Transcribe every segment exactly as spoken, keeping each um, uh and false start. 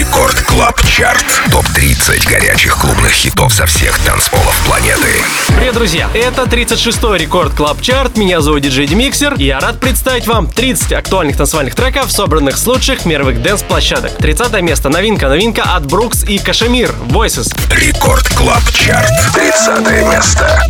Рекорд Клаб Чарт. топ тридцать горячих клубных хитов со всех танцполов планеты. Привет, друзья! Это тридцать шестой Рекорд Клаб Чарт. Меня зовут диджей Демиксер. И я рад представить вам тридцать актуальных танцевальных треков, собранных с лучших мировых дэнс-площадок. тридцатое место. Новинка. Новинка от Брукс и Кашемир. Voices. Рекорд Клаб Чарт. тридцатое место.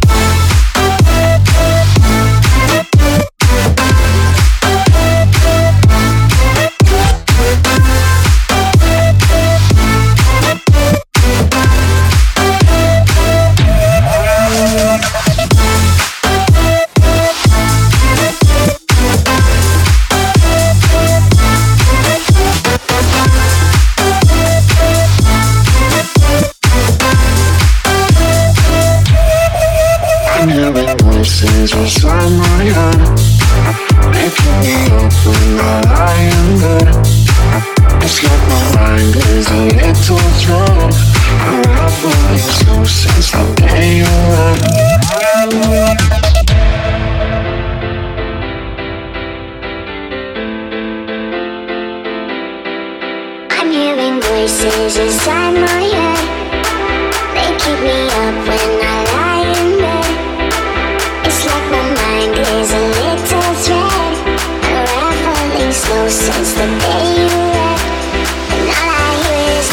Voices inside my head, making me up when I lie in bed. It's like my mind is a little thread, unraveling slow since the day you left. I'm hearing voices inside my head. They keep me up when I lie in bed. It's like my mind is a little thread, unraveling slow since the day you left. And all I hear is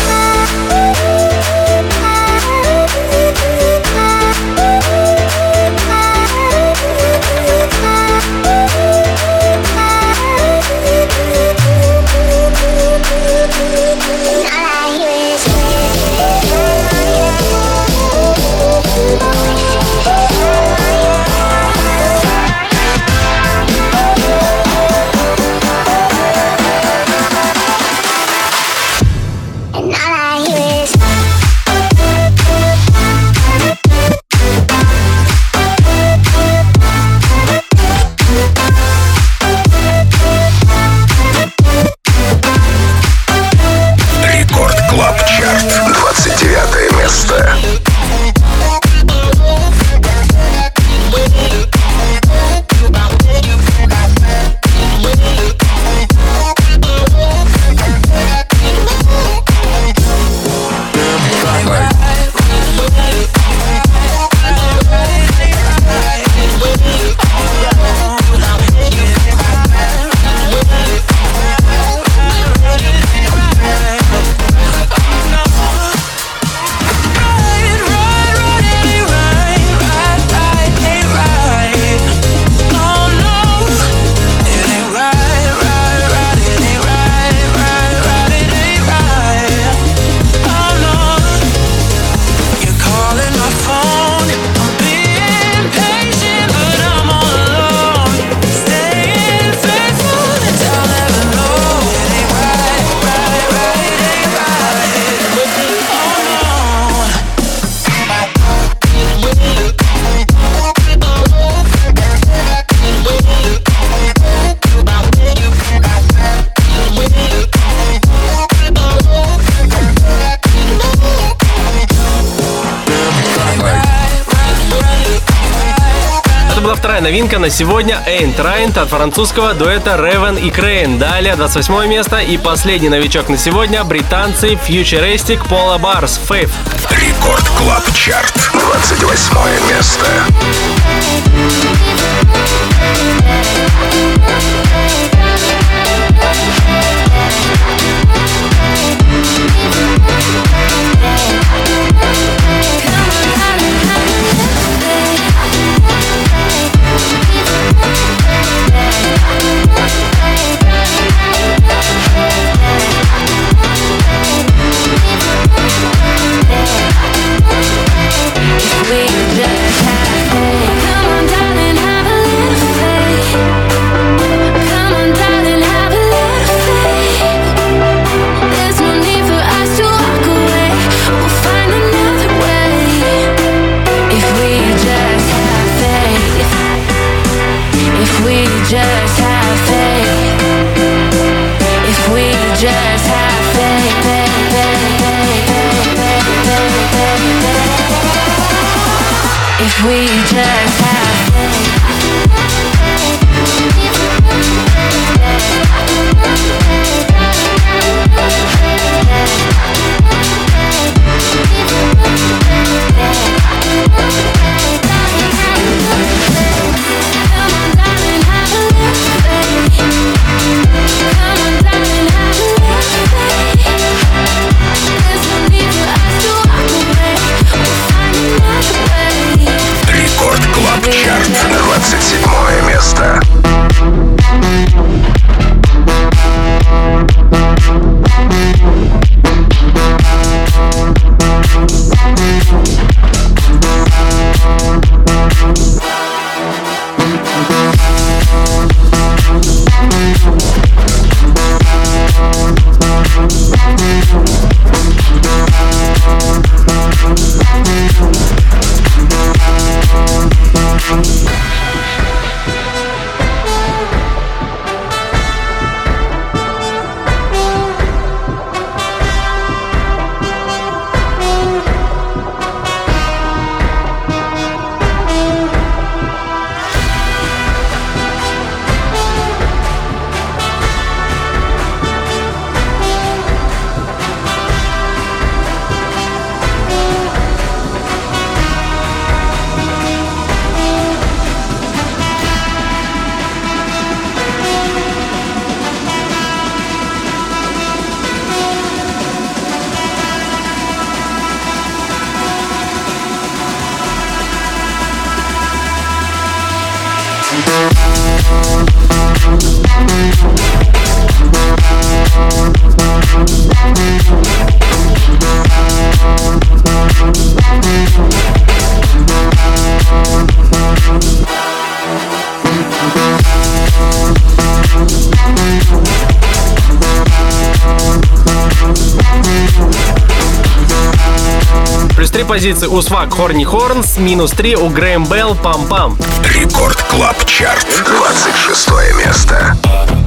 новинка на сегодня Ain't Right от французского дуэта Raven и Crane. Далее двадцать восьмое место и последний новичок на сегодня британцы Futuristic Polar Bars Faith. Рекорд Клаб Чарт. двадцать восьмое место. If we just have faith. Плюс три позиции у Свак Хорни Хорнс, минус три у Грэм Белл Пам Пам. Рекорд Клаб Чарт, двадцать шестое место.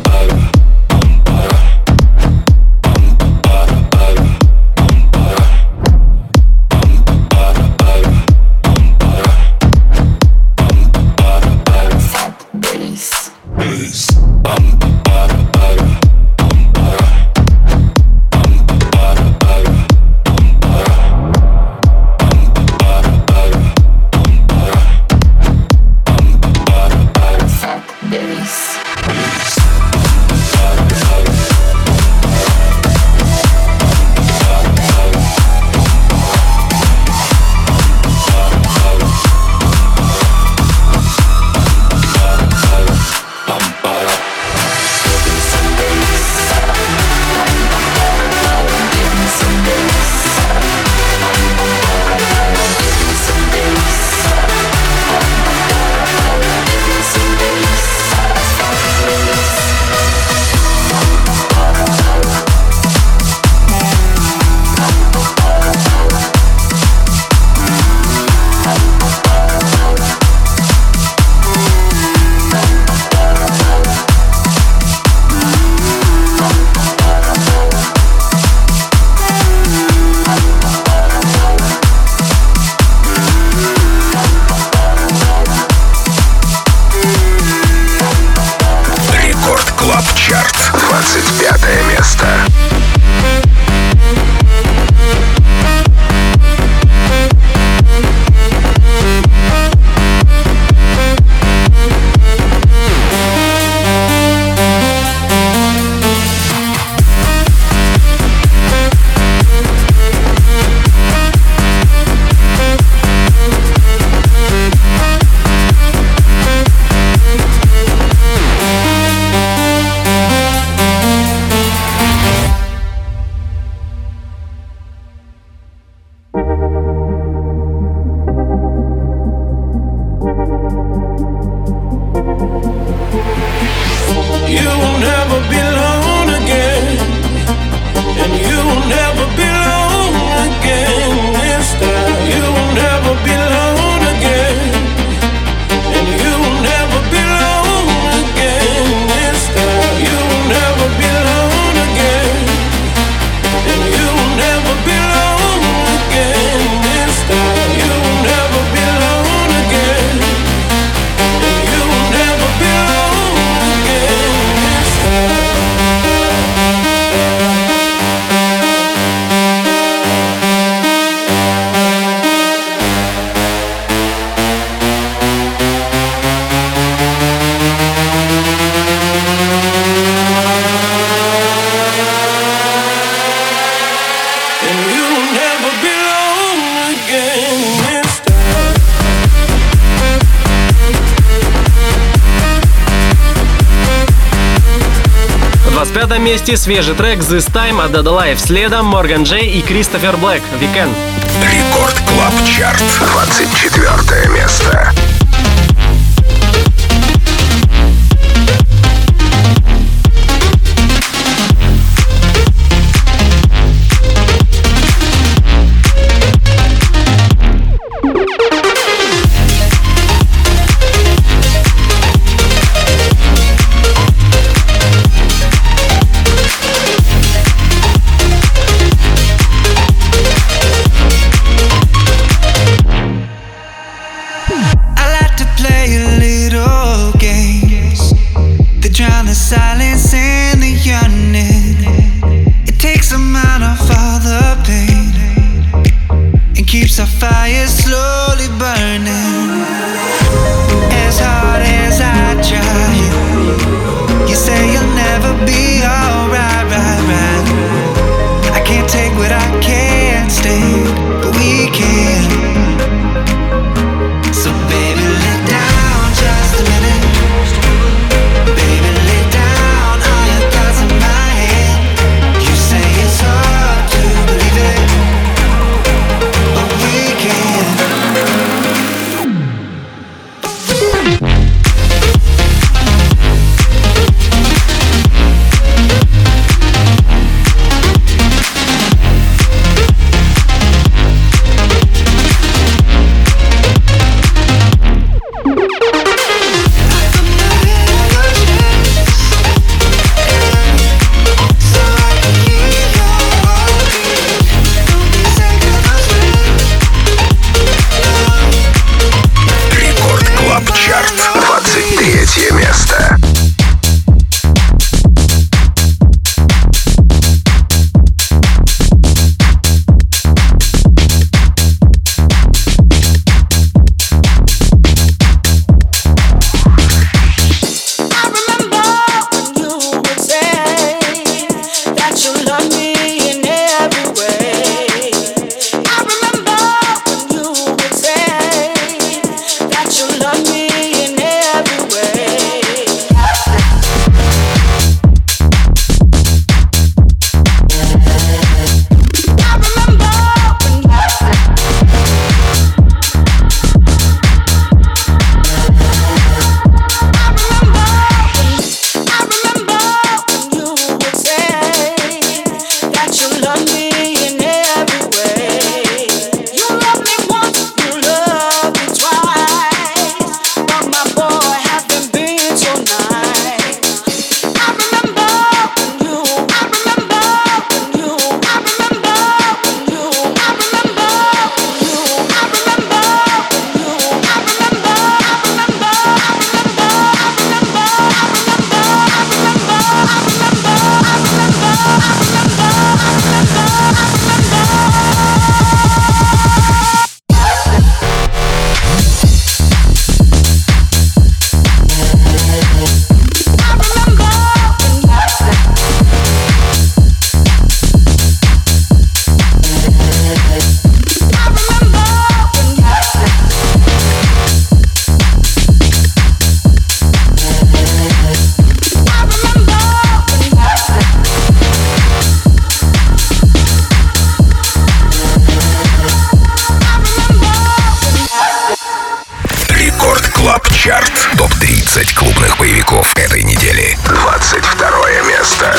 В пятом месте свежий трек This Time от Dada Life, следом Морган Джей и Кристофер Блэк Weekend. Рекорд Клаб Чарт, двадцать четвертое место. Silence and the yearning, it takes them out of all the pain and keeps our fire slowly burning. As hard as I try, you say you'll never be alright, right, right. I can't take what I can't stand, but we can. So baby, lay down just a minute. Baby, lay down all your thoughts in my head. You say it's hard to believe it, but we can. Чарт. топ тридцать клубных боевиков этой недели. двадцать второе место.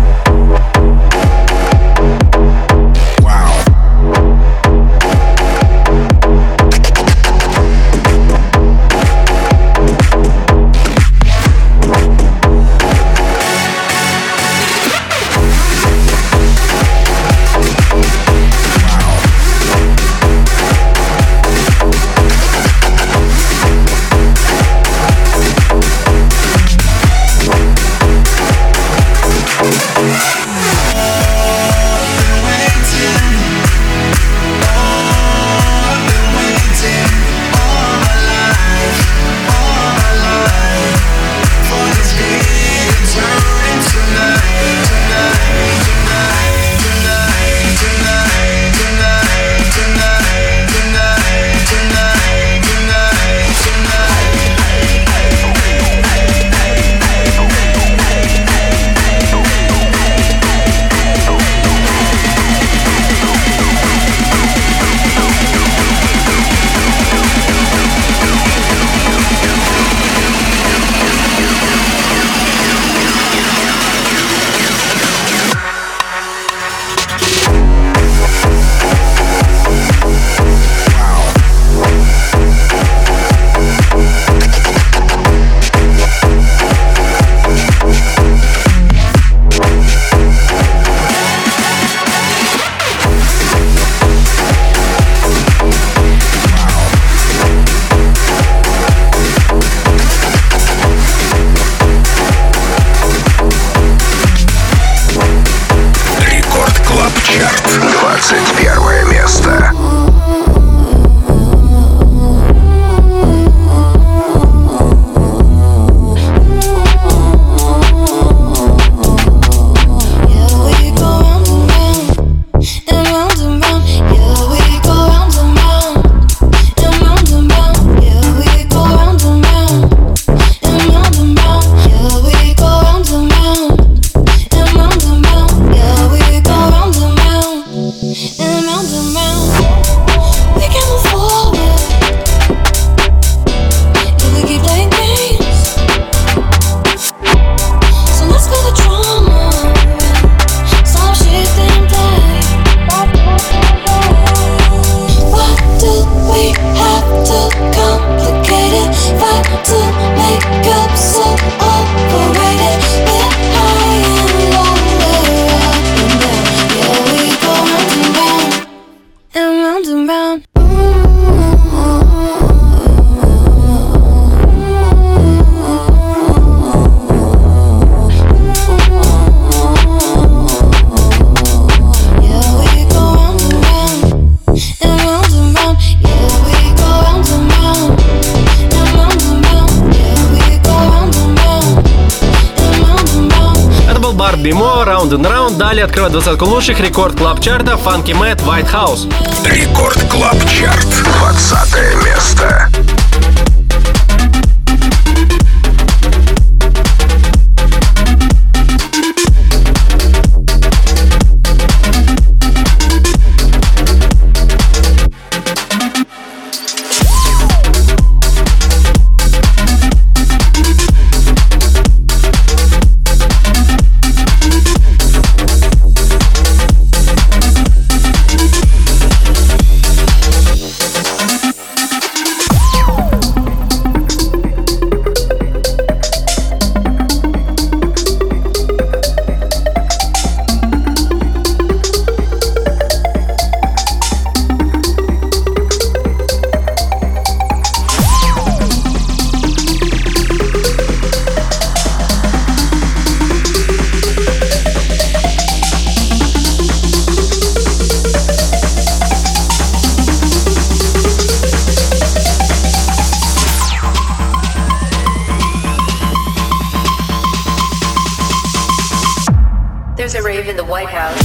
Round and Round. Далее открывает двадцатку лучших рекорд клаб чарта Funky Matt White House. Рекорд клаб чарт. двадцатое место. There's a rave in the White House.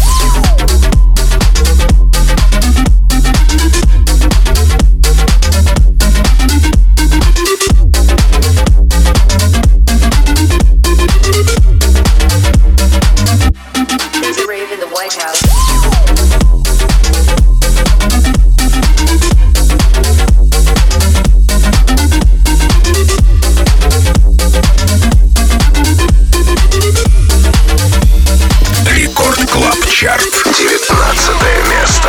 Рекорд Клаб Чарт, девятнадцатое место.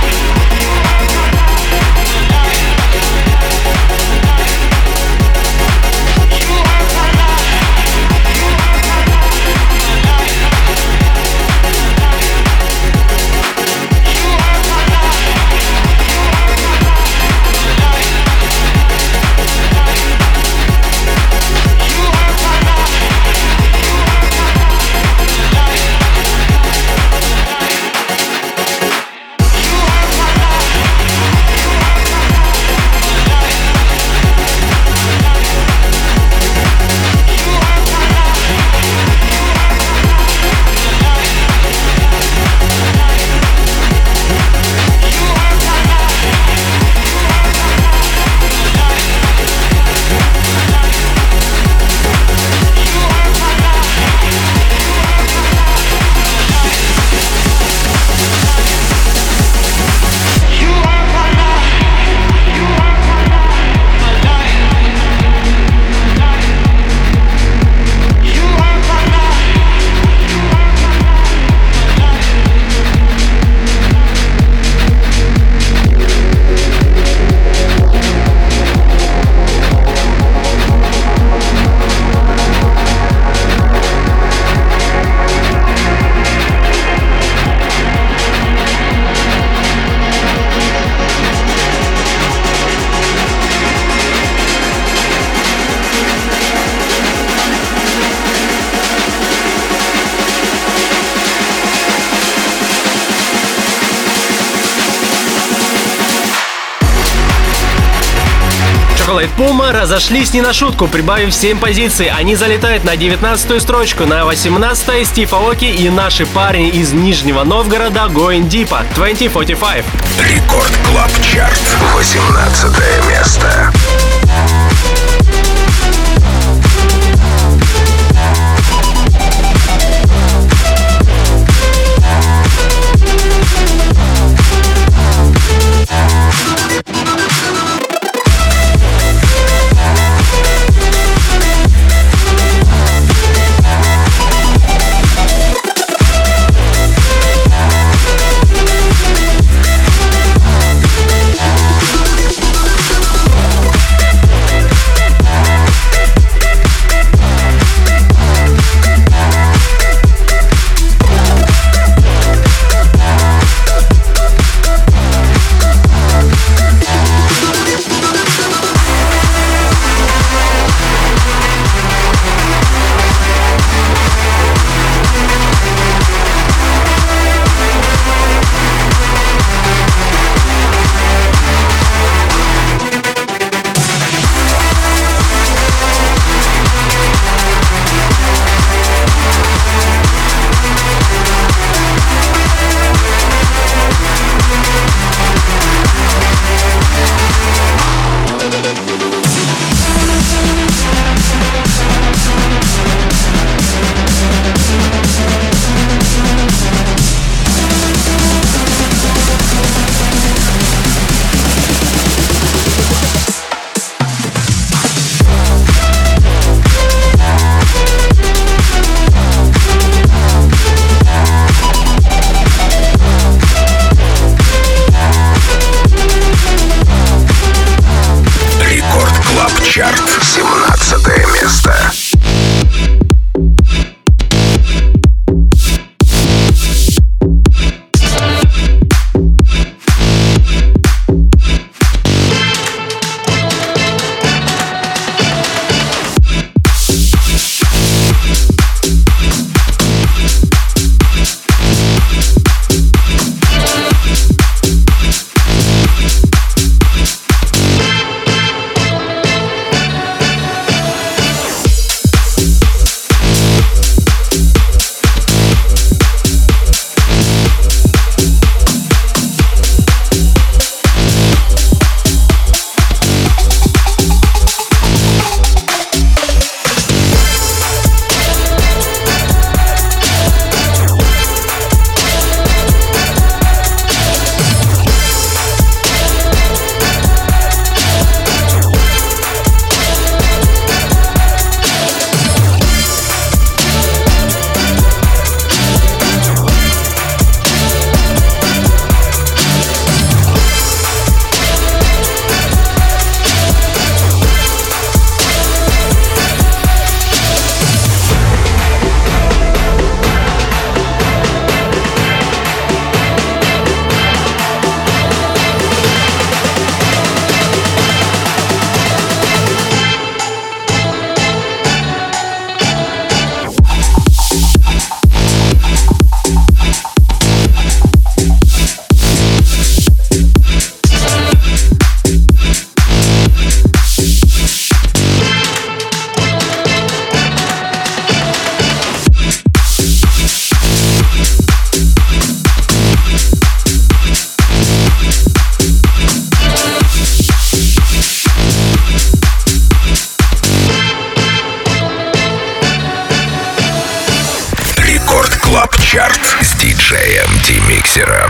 Chocolate Puma разошлись не на шутку, прибавив семь позиций. Они залетают на девятнадцатую строчку, на восемнадцатой Стив Аоки и наши парни из Нижнего Новгорода Going Deepa двадцать сорок пять. Рекорд Клаб Чарт, восемнадцатое место.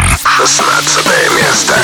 шестнадцатое место.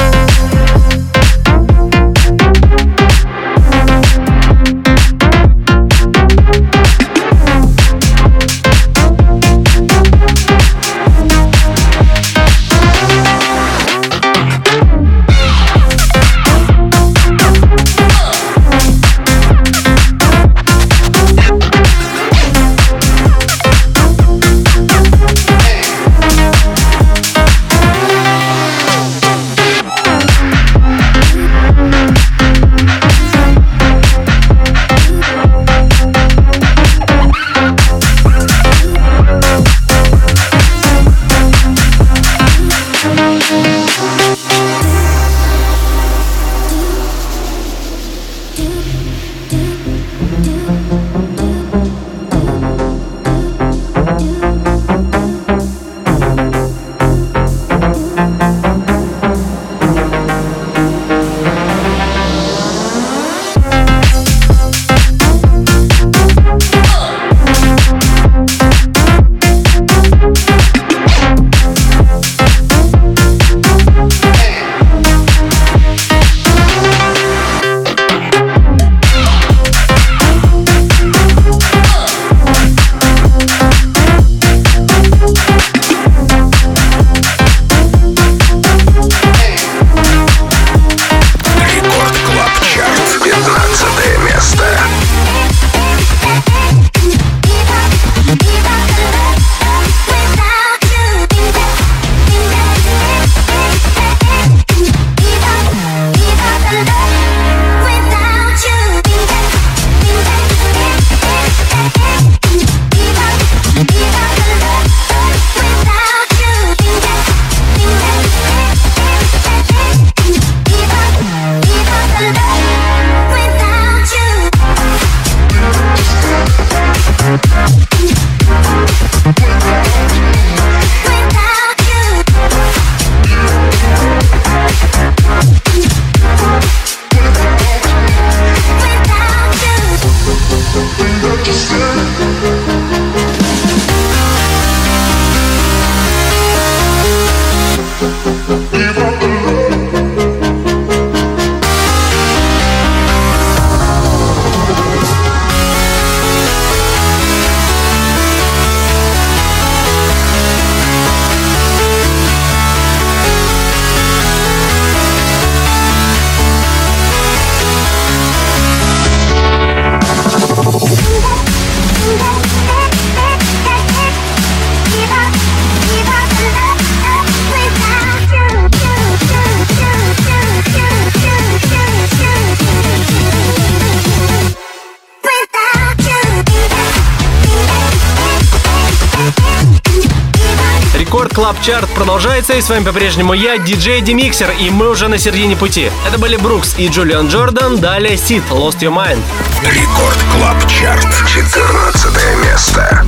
Клаб Чарт продолжается, и с вами по-прежнему я, диджей Демиксер, и мы уже на середине пути. Это были Брукс и Джулиан Джордан, далее Сид, Lost Your Mind. Рекорд Клаб Чарт, четырнадцатое место.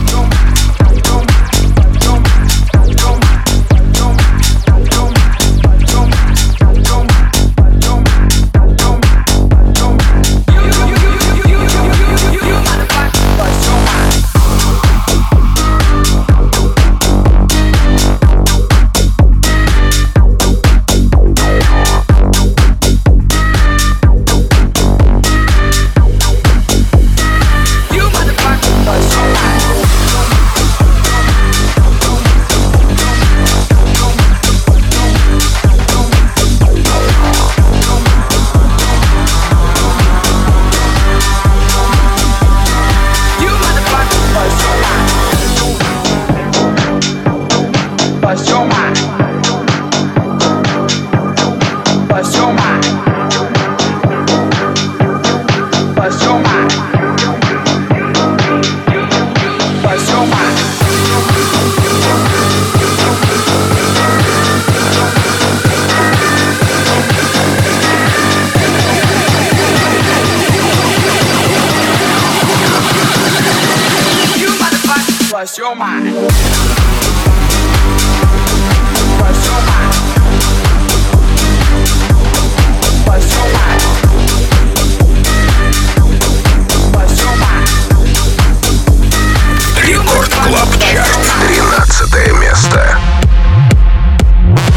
Bust your mind. Bust your mind. Bust your mind. Bust your mind. Рекорд Клаб Чарт, тринадцатое место.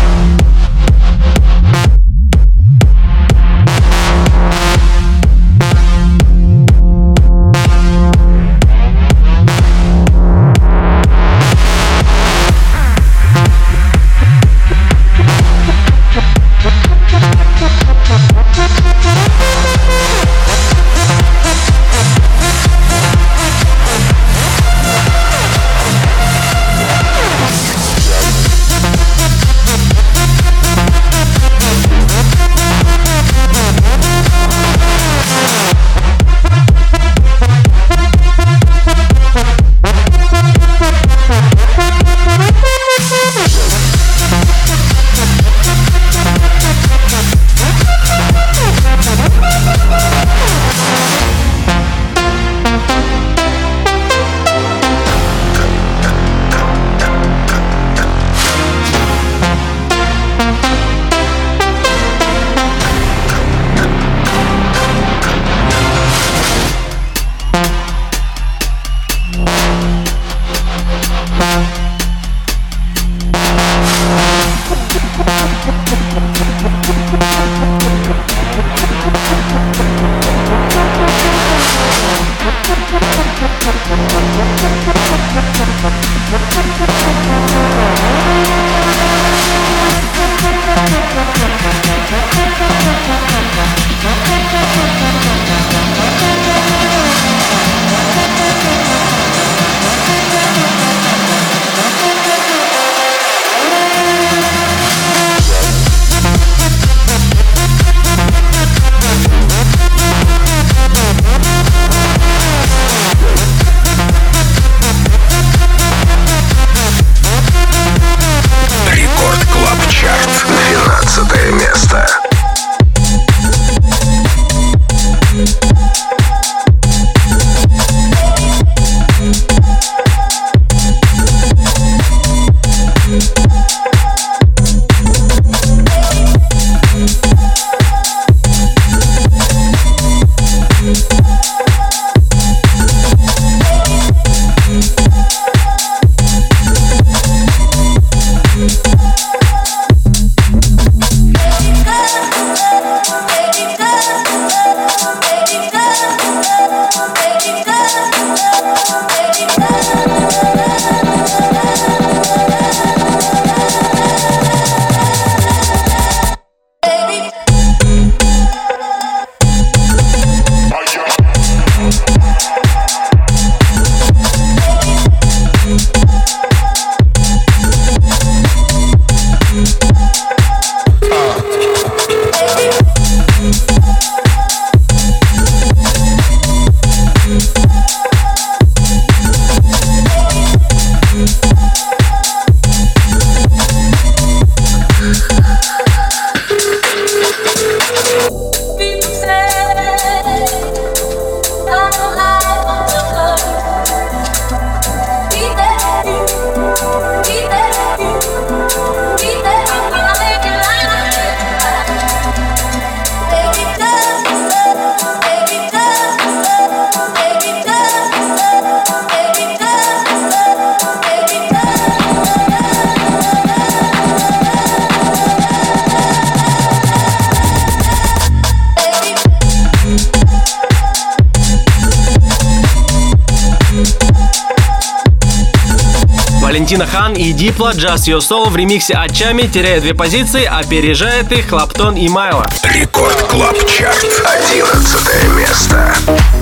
Валентина Хан и Diplo Just Your Soul в ремиксе от Chami теряет две позиции, опережает их Клаптон и Майло. Рекорд Клаб Чарт. Одиннадцатое место.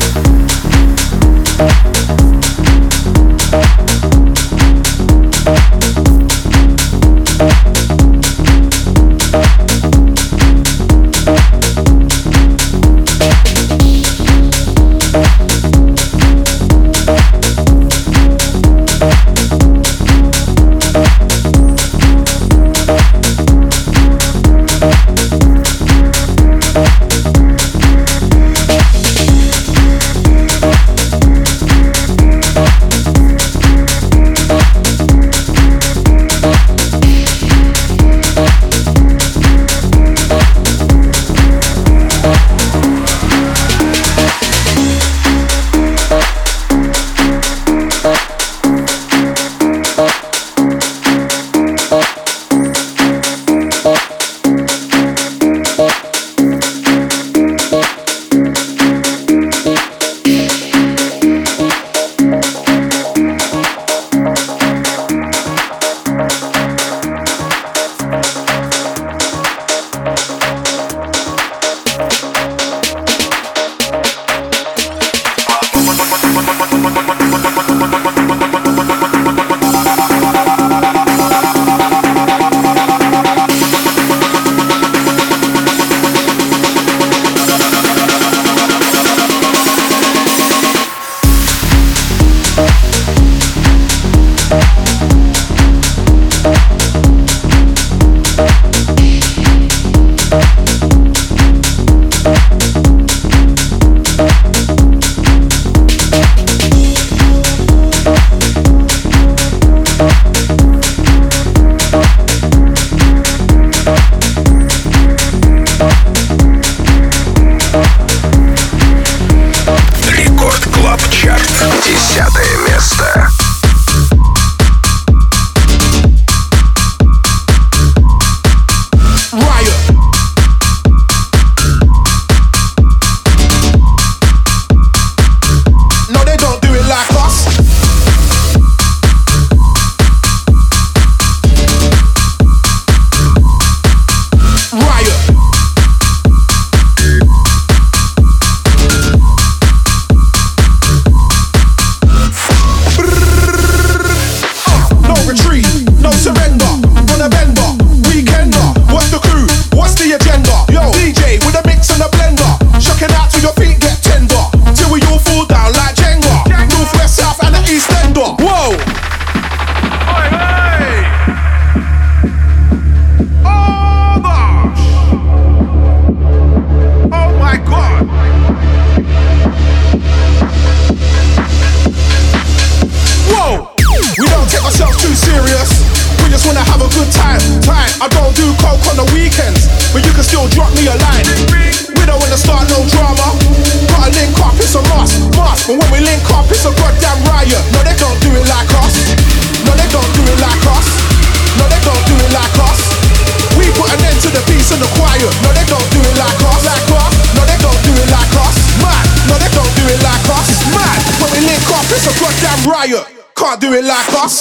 Can't do it like us.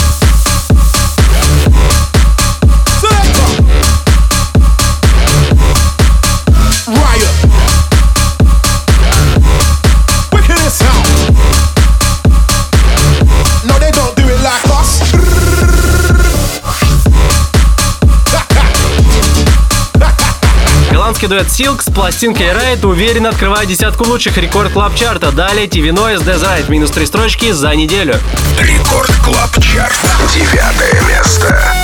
Riot. Wickedest sound. No, they don't do it like us. Голландский дуэт Silk с пластинкой Ride уверенно открывает десятку лучших Рекорд Клаб Чарта. Далее ти ви Noise Death Ride минус три строчки за неделю. Рекорд Клаб Чарт. Девятое место.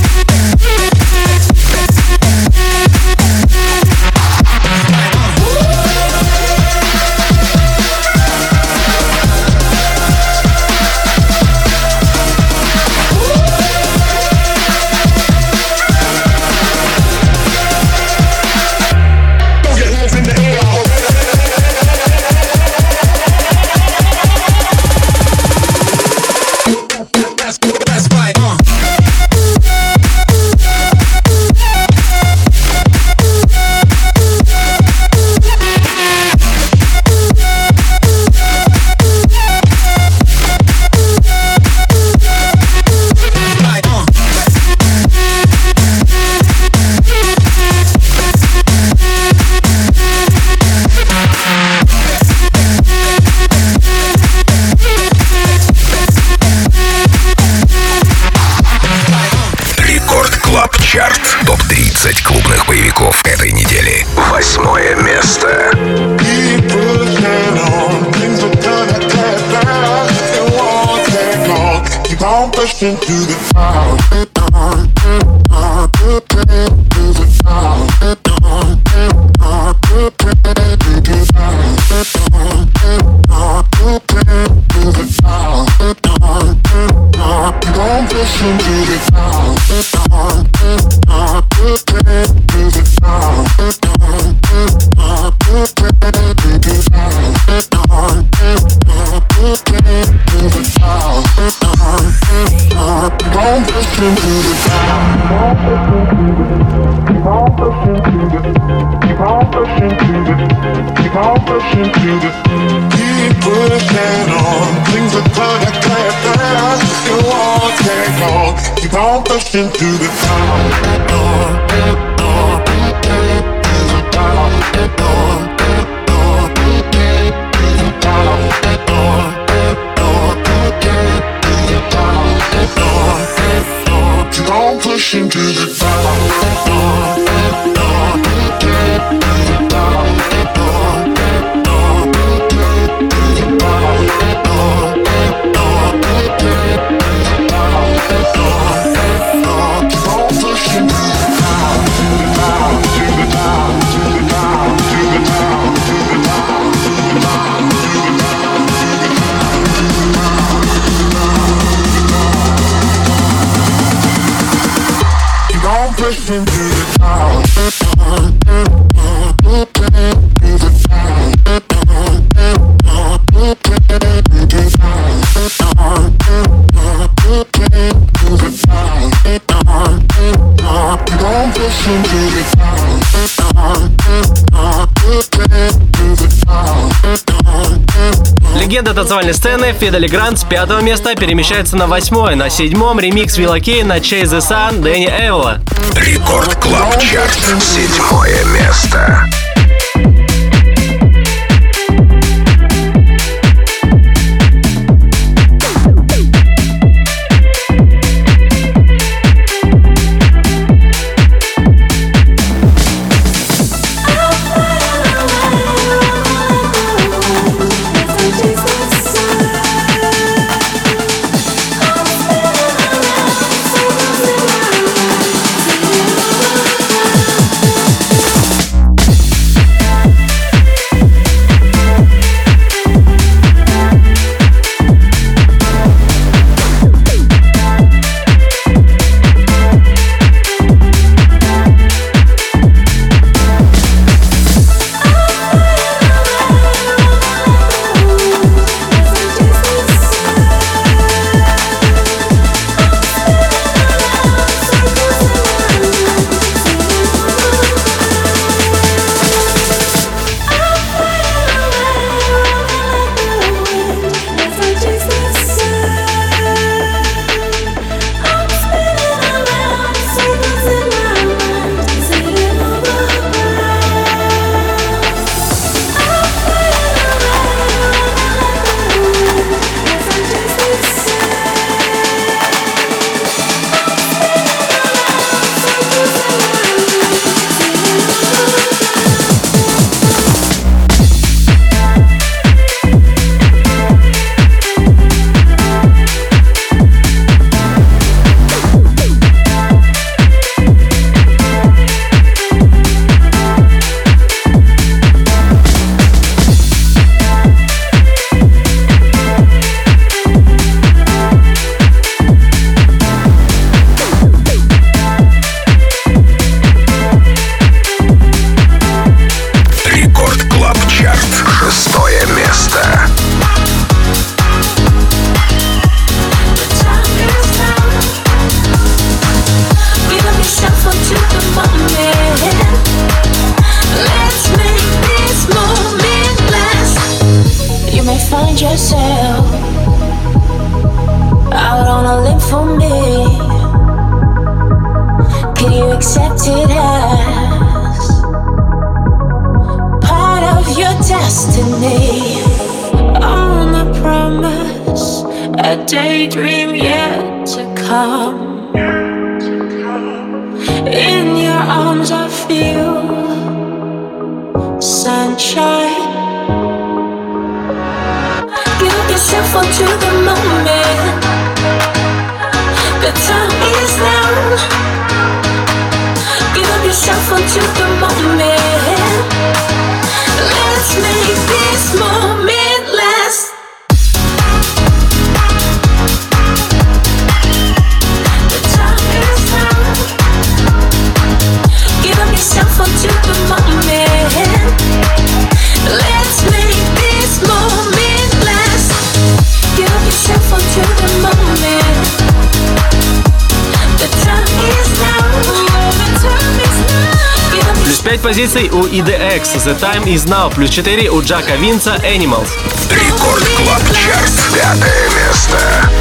Woo! тридцать клубных боевиков этой недели. Восьмое место. Легенда танцевальной сцены Фида Легранд с пятого места перемещается на восьмое. На седьмом ремикс Вилла Кей на Chase the Sun Дэнни Эвола. Рекорд Клаб Чарт. Седьмое место. daydream yet to come. In your arms yourself onto the moment. The time is now. Give up yourself onto the moment. Let's make this moment last. The time is now. Give up yourself onto the moment. Let's make this moment last. Give up yourself onto the moment. The time is now. The time is now. Плюс пять позиций у и ди экс, The Time Is Now. Плюс четыре у Джака Винса, Animals. Рекорд Клаб Чарт, пятое место.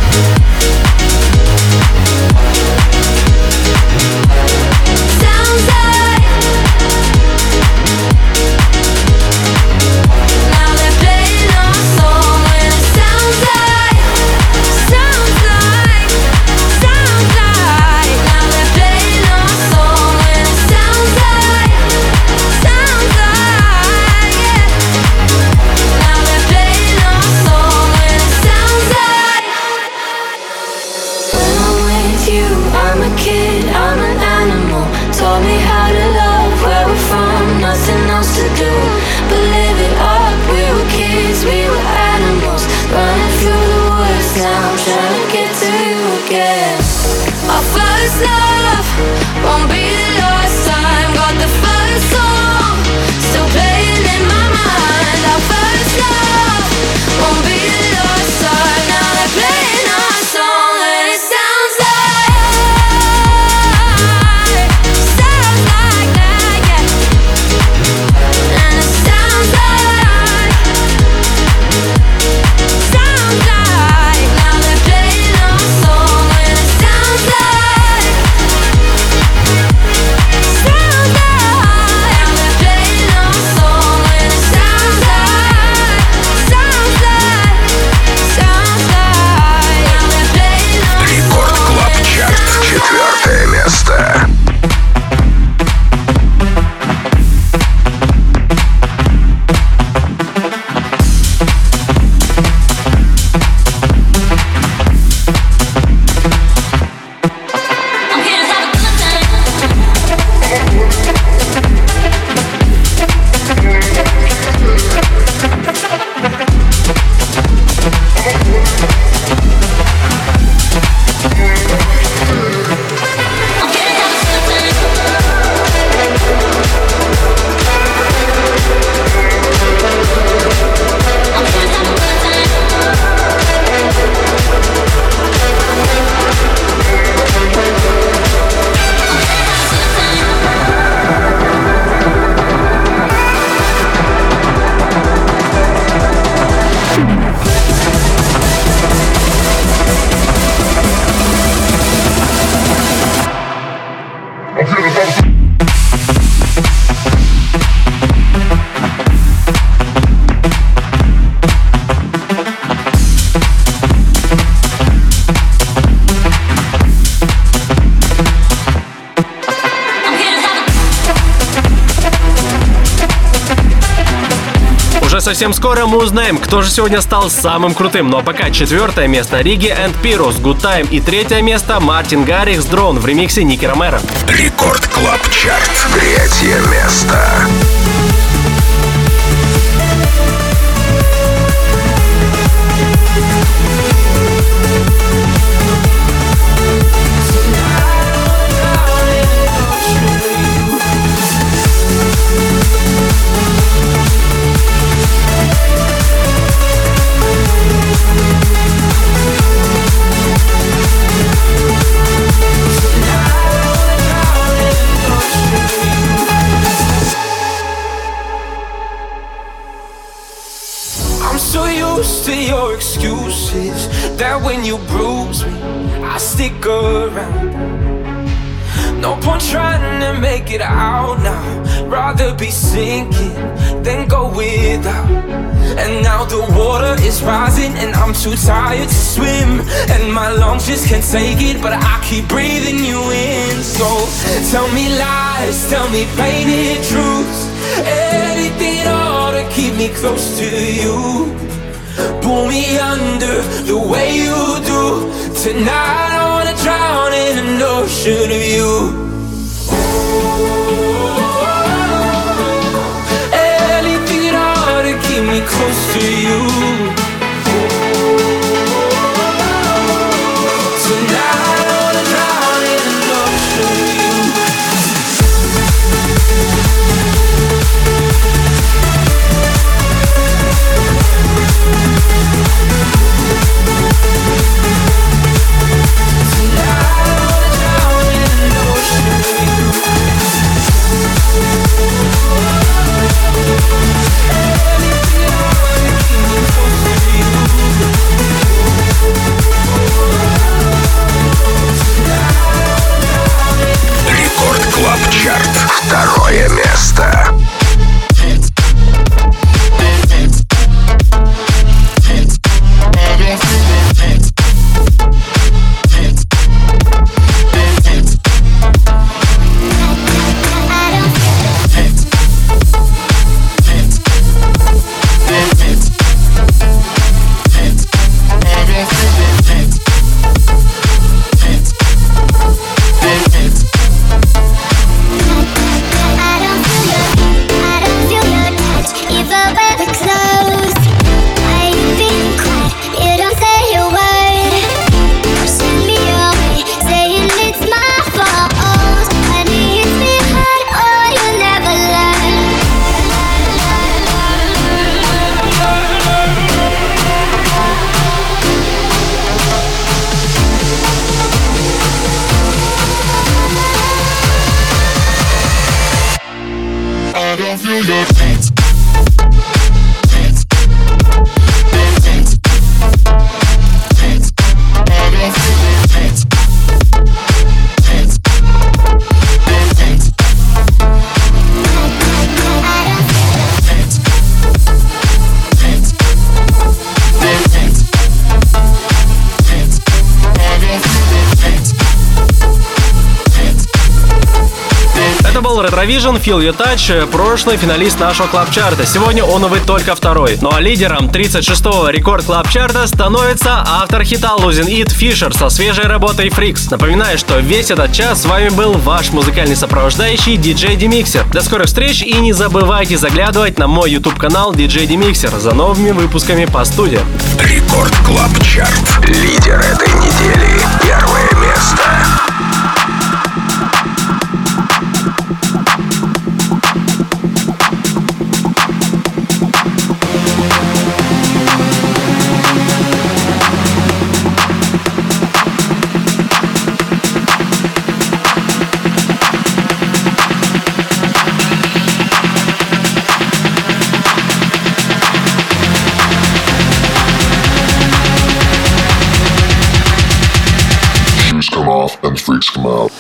Совсем скоро мы узнаем, кто же сегодня стал самым крутым. Ну а пока четвертое место Риги энд Пирус, Good Time. И третье место Мартин Гаррикс, Дрон в ремиксе Ники Ромеро. Рекорд Клаб Чарт, третье место. To your excuses, that when you bruise me, I stick around. No point trying to make it out now. Rather be sinking than go without. And now the water is rising and I'm too tired to swim. And my lungs just can't take it, but I keep breathing you in. So tell me lies, tell me painted truths, anything at all to keep me close to you. pull me under the way you do. Tonight I wanna drown in an ocean of you. Anything at all to keep me close to you. Tonight I wanna drown in an ocean of you. Рекорд Клаб Чарт. Второе место. Retrovision, Feel Your Touch, прошлый финалист нашего клаб-чарта. Сегодня он, увы, только второй. Ну а лидером тридцать шестого рекорд клаб-чарта становится автор хита Losing It Fisher со свежей работой Freaks. Напоминаю, что весь этот час с вами был ваш музыкальный сопровождающий диджей Демиксер. До скорых встреч и не забывайте заглядывать на мой YouTube-канал диджей Демиксер за новыми выпусками по студии. Рекорд Клаб Чарт. Лидер этой недели. Первое место. And freaks come out.